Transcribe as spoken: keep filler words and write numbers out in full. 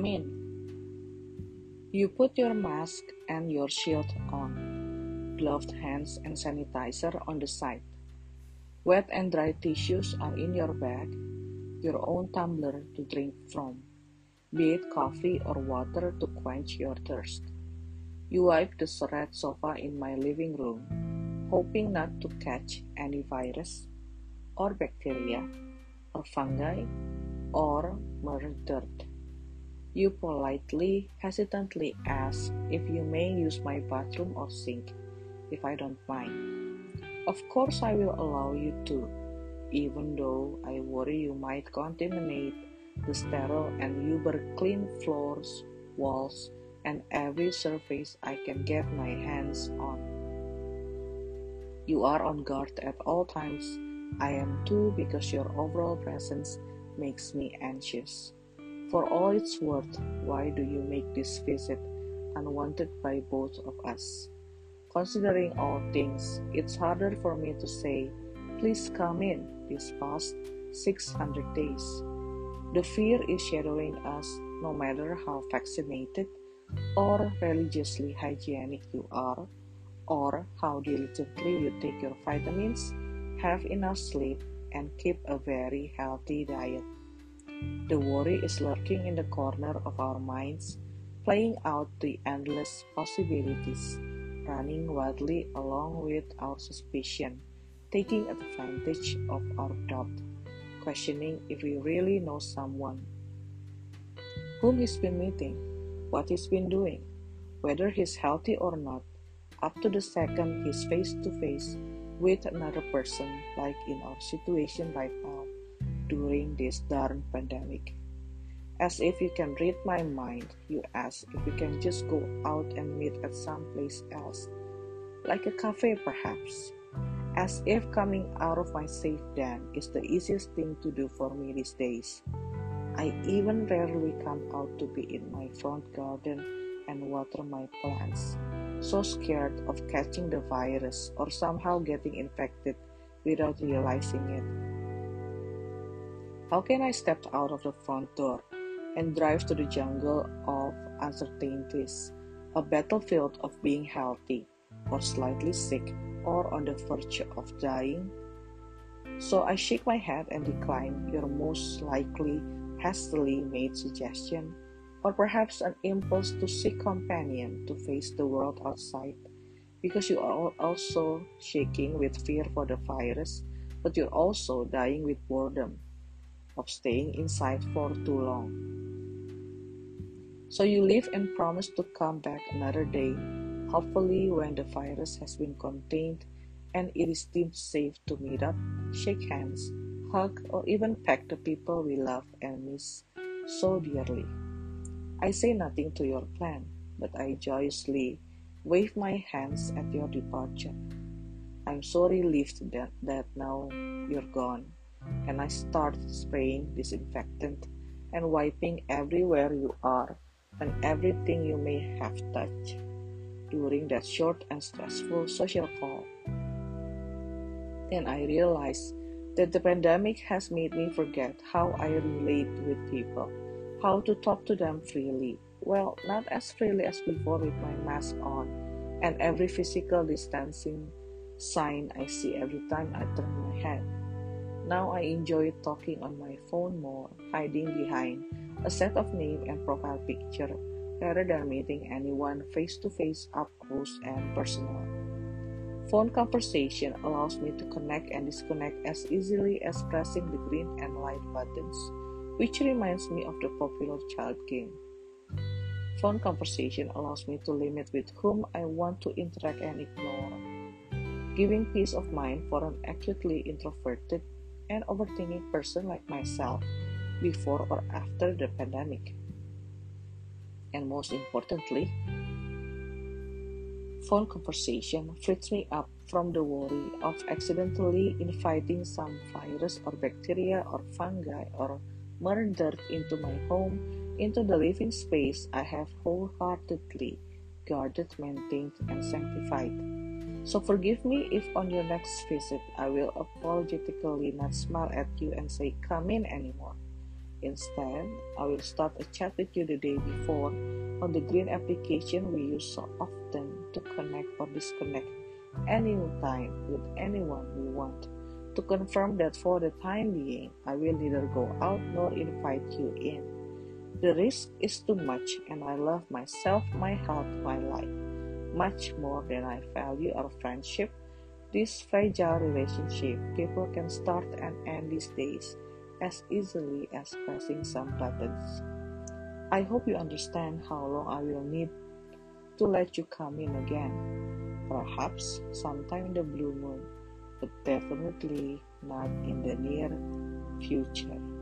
Come in. You put your mask and your shield on, gloved hands and sanitizer on the side. Wet and dry tissues are in your bag, your own tumbler to drink from, be it coffee or water to quench your thirst. You wipe the red sofa in my living room, hoping not to catch any virus or bacteria or fungi or murder dirt. You politely, hesitantly ask if you may use my bathroom or sink, if I don't mind. Of course I will allow you to, even though I worry you might contaminate the sterile and uber-clean floors, walls, and every surface I can get my hands on. You are on guard at all times. I am too, because your overall presence makes me anxious. For all it's worth, why do you make this visit unwanted by both of us? Considering all things, it's harder for me to say, please come in, these past six hundred days. The fear is shadowing us no matter how vaccinated or religiously hygienic you are, or how diligently you take your vitamins, have enough sleep, and keep a very healthy diet. The worry is lurking in the corner of our minds, playing out the endless possibilities, running wildly along with our suspicion, taking advantage of our doubt, questioning if we really know someone, whom he's been meeting, what he's been doing, whether he's healthy or not, up to the second he's face to face with another person, like in our situation right now during this darn pandemic. As if you can read my mind, you ask if we can just go out and meet at some place else, like a cafe perhaps. As if coming out of my safe den is the easiest thing to do for me these days. I even rarely come out to be in my front garden and water my plants, so scared of catching the virus or somehow getting infected without realizing it. How can I step out of the front door and drive to the jungle of uncertainties, a battlefield of being healthy or slightly sick or on the verge of dying? So I shake my head and decline your most likely hastily made suggestion, or perhaps an impulse to seek companion to face the world outside, because you are also shaking with fear for the virus, but you're also dying with boredom of staying inside for too long. So you leave and promise to come back another day, hopefully when the virus has been contained and it is deemed safe to meet up, shake hands, hug, or even peck the people we love and miss so dearly. I say nothing to your plan, but I joyously wave my hands at your departure. I'm so relieved that, that now you're gone, and I start spraying disinfectant and wiping everywhere you are and everything you may have touched during that short and stressful social call. Then I realize that the pandemic has made me forget how I relate with people, how to talk to them freely. Well, not as freely as before with my mask on and every physical distancing sign I see every time I turn my head. Now I enjoy talking on my phone more, hiding behind a set of name and profile picture rather than meeting anyone face to face, up close and personal. Phone conversation allows me to connect and disconnect as easily as pressing the green and light buttons, which reminds me of the popular child game. Phone conversation allows me to limit with whom I want to interact and ignore, giving peace of mind for an acutely introverted and overthinking person like myself before or after the pandemic. And most importantly, phone conversation frees me up from the worry of accidentally inviting some virus or bacteria or fungi or murder into my home, into the living space I have wholeheartedly guarded, maintained, and sanctified. So forgive me if on your next visit I will apologetically not smile at you and say come in anymore. Instead, I will start a chat with you the day before on the green application we use so often to connect or disconnect anytime with anyone we want, to confirm that for the time being, I will neither go out nor invite you in. The risk is too much, and I love myself, my health, my life, much more than I value our friendship. This fragile relationship people can start and end these days as easily as pressing some buttons. I hope you understand how long I will need to let you come in again. Perhaps sometime in the blue moon, but definitely not in the near future.